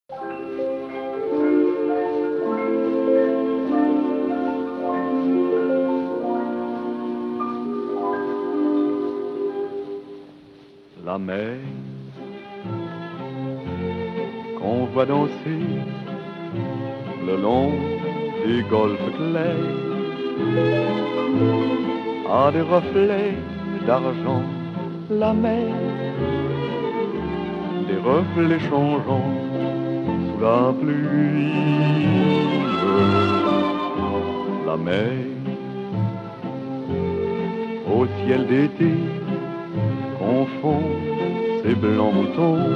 La mer qu'on voit danser le long des golfes clairs a des reflets d'argent. La mer, des reflets changeants sous la pluie. La mer au ciel d'été confond ses blancs moutons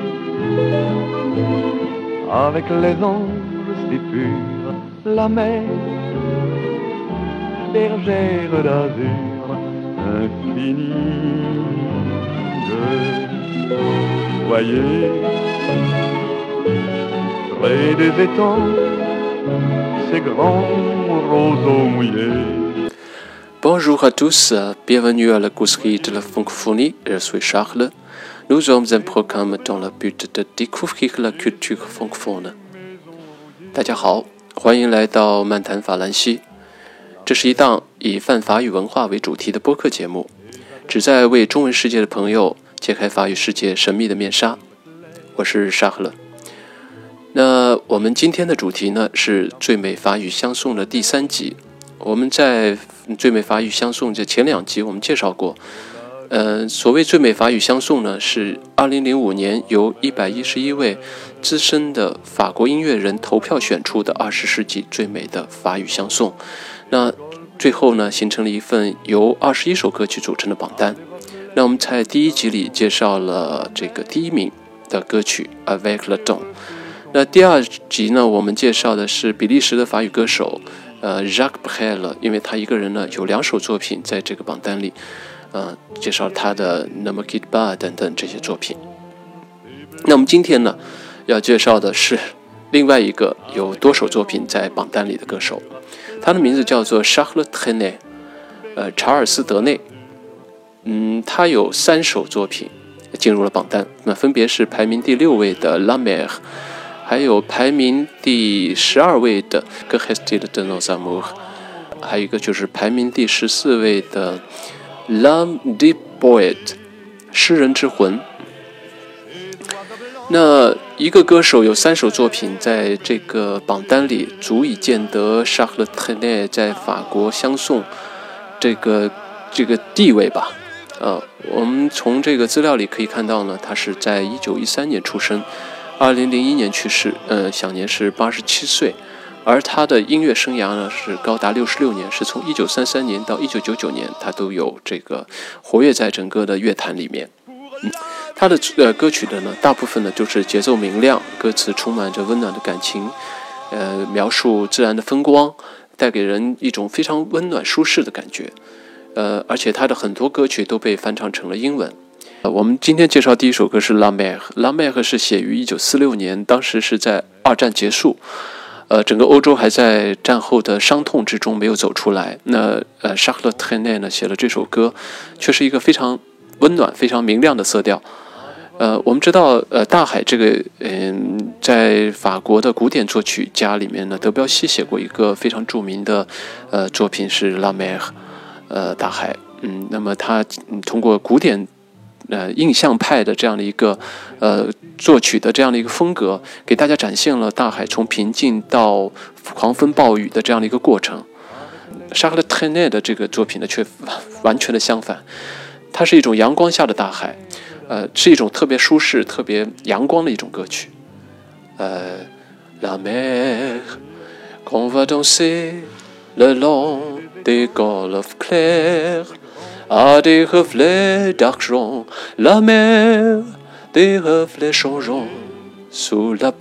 avec les anges si purs. La mer, bergère d'azur infinie. Voyez, près des étangs, ces grands roseaux mouillés. Bonjour à tous, bienvenue à la causerie de la francophonie, je suis Charles. Nous sommes un programme dans le but de découvrir la culture francophone. 大家好，欢迎来到漫谈法兰西。这是一档以泛法语文化为主题的播客节目，旨在为中文世界的朋友揭开法语世界神秘的面纱。我是沙赫勒。那我们今天的主题呢是最美法语相送的第3集。我们在最美法语相送这前2集我们介绍过，所谓最美法语相送呢，是2005年由111位资深的法国音乐人投票选出的20世纪最美的法语相送。那最后呢，形成了一份由21首歌曲组成的榜单。那我们在第1集里介绍了这个第1名的歌曲 Avec le temps。那第2集呢，我们介绍的是比利时的法语歌手Jacques Brel， 因为他一个人呢有2首作品在这个榜单里，介绍他的 Ne me quitte pas 等等这些作品。那我们今天呢要介绍的是另外一个有多首作品在榜单里的歌手，他的名字叫做 Charles Trenet， 查尔斯·德内。他有3首作品进入了榜单，那分别是排名第6位的 La Mer， 还有排名第12位的 Que reste-t-il de nos amours， 还有一个就是排名第14位的 L'âme du poète， 诗人之魂。那一个歌手有3首作品在这个榜单里，足以见得 Charles Trenet 在法国相送这个地位吧。我们从这个资料里可以看到呢，他是在1913年出生，2001年去世，享年是87岁。而他的音乐生涯呢是高达66年，是从1933年到1999年，他都有这个活跃在整个的乐坛里面。他的歌曲的呢，大部分呢就是节奏明亮，歌词充满着温暖的感情，描述自然的风光，带给人一种非常温暖舒适的感觉。而且他的很多歌曲都被翻唱成了英文。我们今天介绍第1首歌是 La Mer。La Mer 是写于1946年，当时是在2战结束，整个欧洲还在战后的伤痛之中没有走出来。那Charles Trenet 呢写了这首歌，却是一个非常温暖、非常明亮的色调。我们知道，大海这个，在法国的古典作曲家里面呢，德彪西写过一个非常著名的作品是 La Mer， 大海。那么他通过古典印象派的这样的一个作曲的这样的一个风格，给大家展现了大海从平静到狂风暴雨的这样的一个过程。Charles Trenet 的这个作品呢，却完全的相反，它是一种阳光下的大海，是一种特别舒适、特别阳光的一种歌曲。La mer qu'on va danser le long des golfes clairs。A des reflets d'argent, la mer, des reflets changeants sous la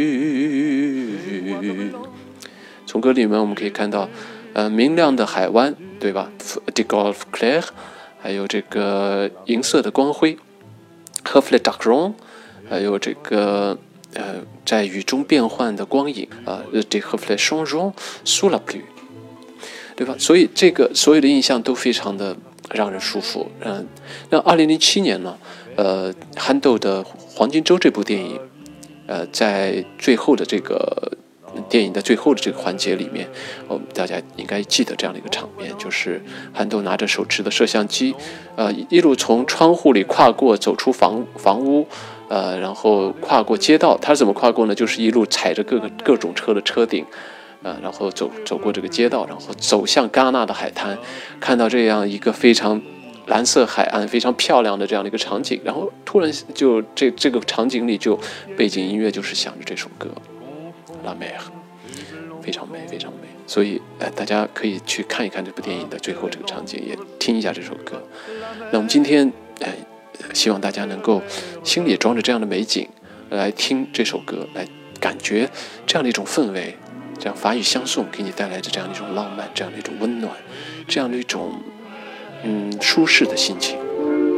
pluie。 从歌里面我们可以看到，明亮的海湾，对吧 ？des golfes clairs， 还有这个银色的光辉 ，reflets d'argent， 还有这个在雨中变幻的光影des reflets changeants sous la pluie， 对吧？所以这个所有的印象都非常的让人舒服。那2007年呢，憨豆的《黄金周》这部电影在最后的这个电影的最后的这个环节里面，大家应该记得这样的一个场面，就是憨豆拿着手持的摄像机，一路从窗户里跨过，走出房屋，然后跨过街道。他是怎么跨过呢？就是一路踩着各种车的车顶，然后走过这个街道，然后走向戛纳的海滩，看到这样一个非常蓝色海岸非常漂亮的这样的一个场景，然后突然就这个场景里就背景音乐就是响着这首歌《La Mer》，非常美非常美。所以大家可以去看一看这部电影的最后这个场景，也听一下这首歌。那我们今天希望大家能够心里也装着这样的美景来听这首歌，来感觉这样的一种氛围，这样法语相送给你带来的这样的一种浪漫，这样的一种温暖，这样的一种舒适的心情。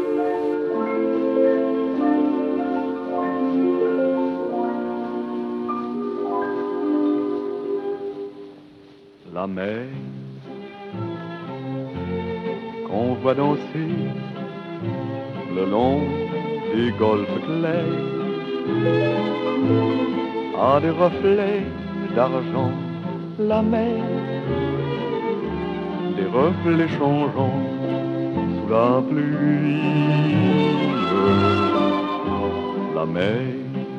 La mer qu'on voit danser le long des golfes clairs a des reflets d'argent. La mer, des reflets changeants sous la pluie. La mer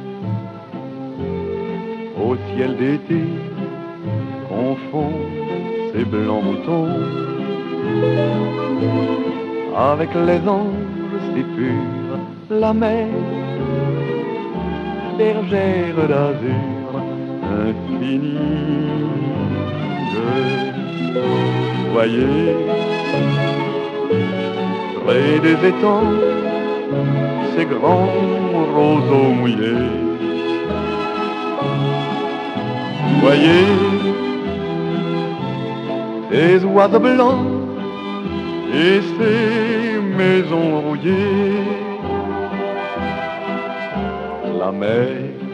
au ciel d'été confond ses blancs moutons avec les anges si purs. La mer, bergère d'azur infinie. Voyez, près des étangs, ces grands roseaux mouillés. Voyez, ces oiseaux blancs et ces maisons rouillées. La mer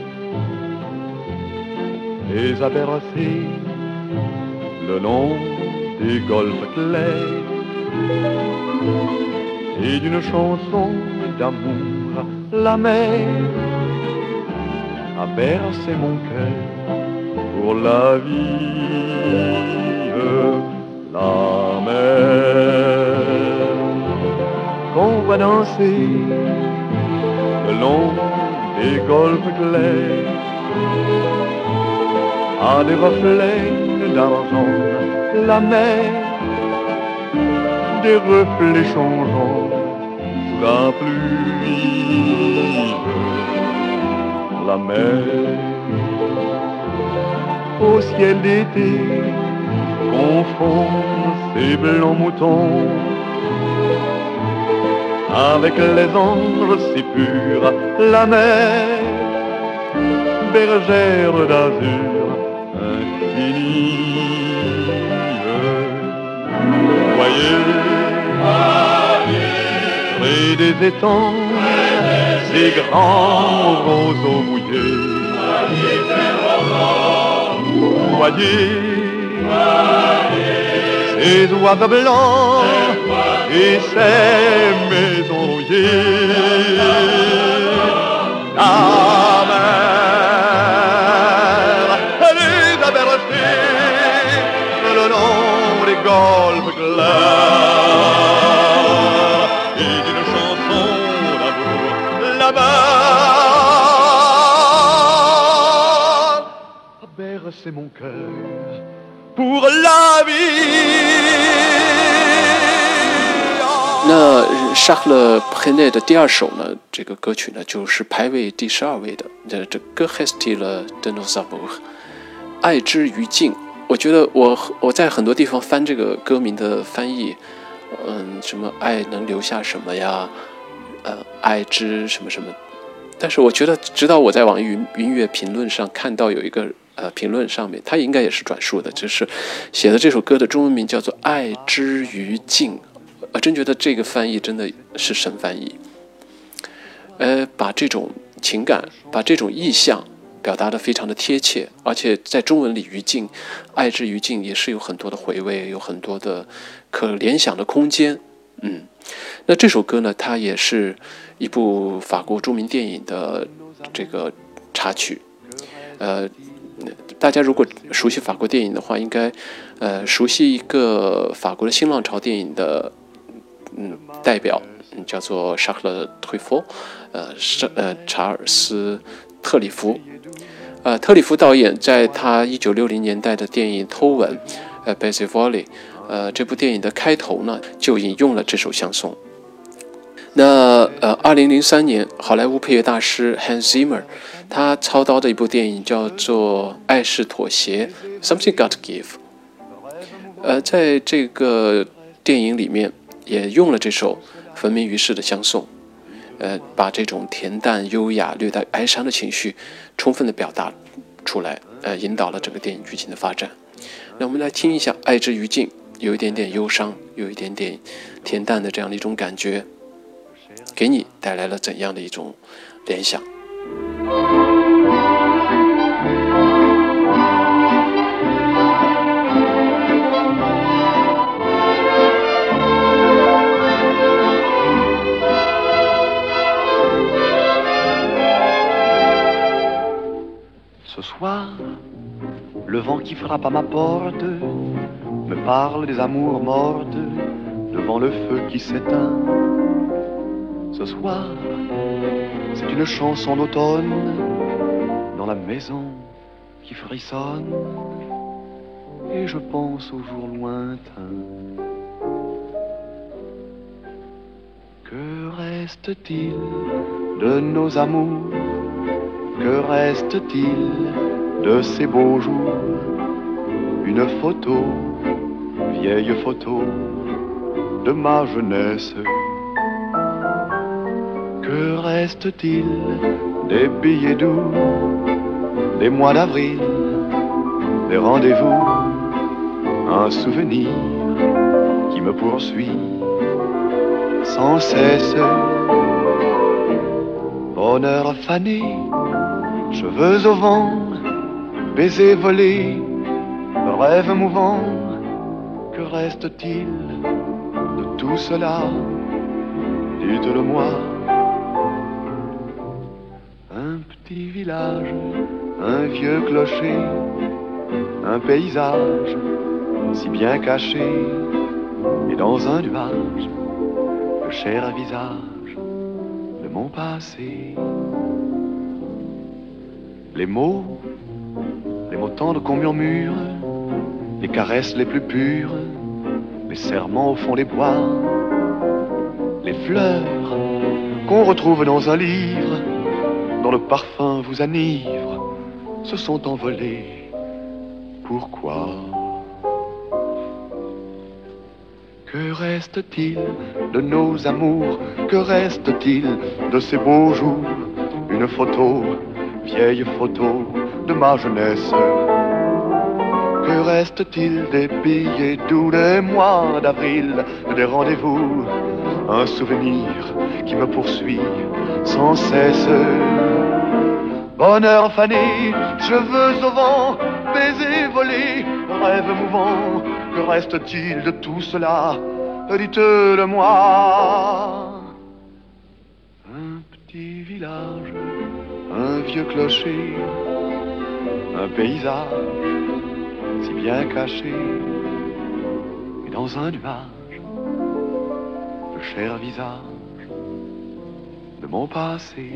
les a bercés le long des golfes clairs et d'une chanson d'amour. La mer a bercé mon cœur pour la vie. La mer qu'on va danser le long des golfes clairs a des reflets d'argent. La mer, des reflets changeants sous la pluie. La mer au ciel d'été confond ses blancs moutons avec les anges si purs. La mer, bergère d'azur infinie. Voyez, près des étangs, ces grands roseaux mouillés. Voyez, ces oiseaux blancs et ces maisons rouillées. La mer les a bercés le long des golfes clairs et d'une chanson d'amour. La mer a bercé mon cœur pour la vie. 那沙克勒佩内的第二首呢，这个歌曲呢就是排位第12位的，这歌 Hestile de nos amours， 爱之于境。我觉得我在很多地方翻这个歌名的翻译，什么爱能留下什么呀，爱之什么什么，但是我觉得直到我在网易云音乐评论上看到有一个评论上面，它应该也是转述的，就是写的这首歌的中文名叫做《爱之于境》。真觉得这个翻译真的是神翻译，把这种情感，把这种意象表达得非常的贴切，而且在中文里于境，爱之于境也是有很多的回味，有很多的可联想的空间。那这首歌呢，它也是一部法国著名电影的这个插曲。大家如果熟悉法国电影的话，应该熟悉一个法国的新浪潮电影的代表，叫做沙克勒·推佛，查尔斯·特里弗。特里弗导演在他1960年代的电影《偷吻》Baiser Volley 这部电影的开头呢，就引用了这首相送。那2003年，好莱坞配乐大师 Hans Zimmer 他操刀的一部电影叫做《爱是妥协》Something Got to Give。在这个电影里面也用了这首闻名于世的相送，把这种恬淡优雅略带哀伤的情绪充分的表达出来，引导了整个电影剧情的发展。那我们来听一下《爱之于尽》，有一点点忧伤，有一点点恬淡的这样的一种感觉，给你带来了怎样的一种联想？ Ce soir, le vent qui frappe à ma porte me parle des amours mortes devant le feu qui s'éteint. Ce soir, c'est une chanson d'automne dans la maison qui frissonne et je pense aux jours lointains. Que reste-t-il de nos amours? Que reste-t-il de ces beaux jours? Une photo, vieille photo de ma jeunesse. Que reste-t-il des billets doux, des mois d'avril, des rendez-vous? Un souvenir qui me poursuit sans cesse. Bonheur fané, cheveux au vent, baisers volés, rêves mouvants. Que reste-t-il de tout cela? Dites-le-moi. Un petit village, un vieux clocher, un paysage si bien caché, et dans un nuage, le cher visage de mon passé. Les mots tendres qu'on murmure, les caresses les plus pures, les serments au fond des bois, les fleurs qu'on retrouve dans un livre, dont le parfum vous enivre, se sont envolés. Pourquoi? Que reste-t-il de nos amours? Que reste-t-il de ces beaux jours? Une photo, vieille photo de ma jeunesse. Que reste-t-il des billets doux, des mois d'avril, des rendez-vous? Un souvenir qui me poursuit sans cesse. Bonheur fané, cheveux au vent, baisers volés, rêves mouvants. Que reste-t-il de tout cela? Dites-le-moi. Un petit village, un vieux clocher, un paysage si bien caché, et dans un nuage, le cher visage de mon passé。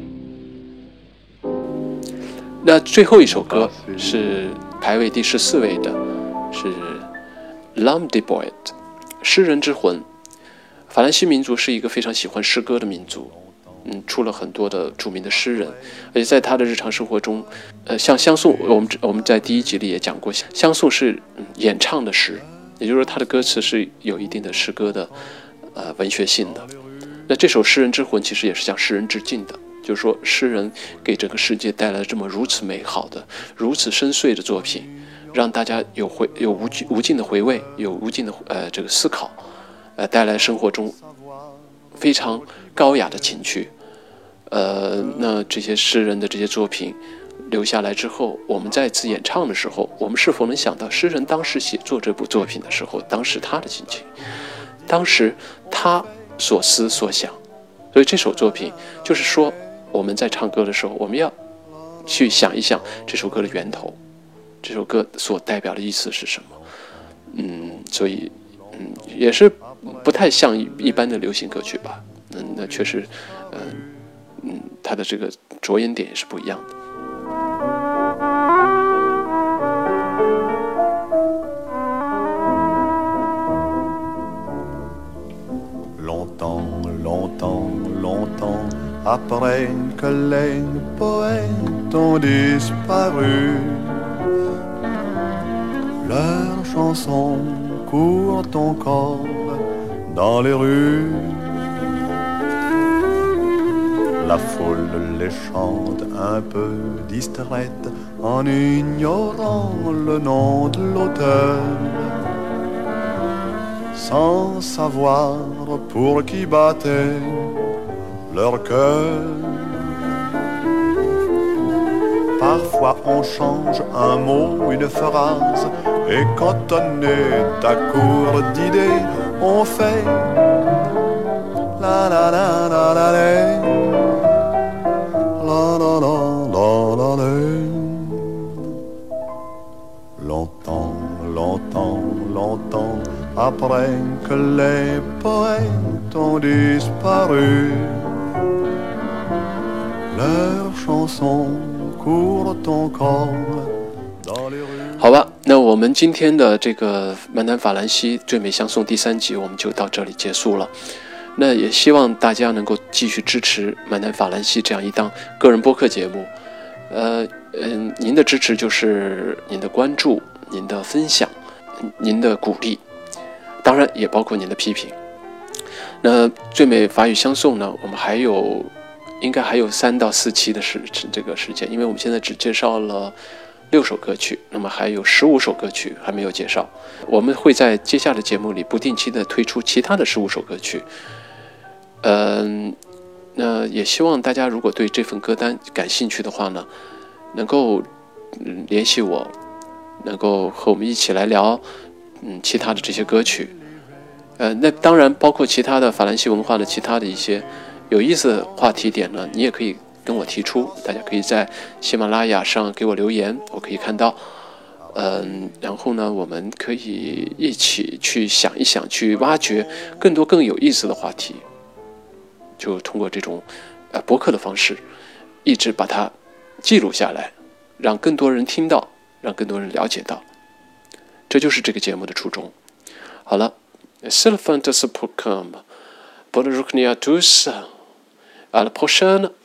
那最后一首歌是排位第14位的，是 L'Âme des Poètes 诗人之魂。法兰西民族是一个非常喜欢诗歌的民族，出了很多的著名的诗人，而且在他的日常生活中，像相送，我们在第1集里也讲过，相送是演唱的诗，也就是说他的歌词是有一定的诗歌的文学性的。那这首诗人之魂其实也是向诗人致敬的，就是说诗人给整个世界带来了这么如此美好的、如此深邃的作品，让大家有无尽的回味，有无尽的这个思考，带来生活中非常高雅的情趣。那这些诗人的这些作品留下来之后，我们再次演唱的时候，我们是否能想到诗人当时写作这部作品的时候，当时他的心情，当时他所思所想。所以这首作品就是说，我们在唱歌的时候，我们要去想一想这首歌的源头，这首歌所代表的意思是什么。所以也是不太像一般的流行歌曲吧。那确实，它的这个着眼点也是不一样的。 Longtemps après que les poètes ont disparu, leurs chansons courent encore dans les rues. La foule les chante un peu distraite en ignorant le nom de l'auteur, sans savoir pour qui battait leur cœur. Parfois on change un mot, une phrase, et quand on est à court d'idées, on fait la la la la la la la la la la la. Longtemps, longtemps, longtemps après que les poètes ont disparu, leurs chansons courent encore dans les rues。 好吧，那我们今天的这个漫谈法兰西最美相送第3集我们就到这里结束了。那也希望大家能够继续支持漫谈法兰西这样一档个人播客节目。您的支持就是您的关注、您的分享、您的鼓励，当然也包括您的批评。那最美法语相送呢，我们应该还有3到4期的这个时间，因为我们现在只介绍了6首歌曲，那么还有15首歌曲还没有介绍。我们会在接下来的节目里不定期的推出其他的15首歌曲。那也希望大家如果对这份歌单感兴趣的话呢，能够联系我，能够和我们一起来聊其他的这些歌曲。那当然包括其他的法兰西文化的其他的一些有意思的话题点呢，你也可以跟我提出，大家可以在喜马拉雅上给我留言，我可以看到。然后呢，我们可以一起去想一想，去挖掘更多更有意思的话题，就通过这种播客的方式，一直把它记录下来，让更多人听到，让更多人了解到，这就是这个节目的初衷。好了，c'est la fin de ce programme. Bonne journée à tous. À la prochaine.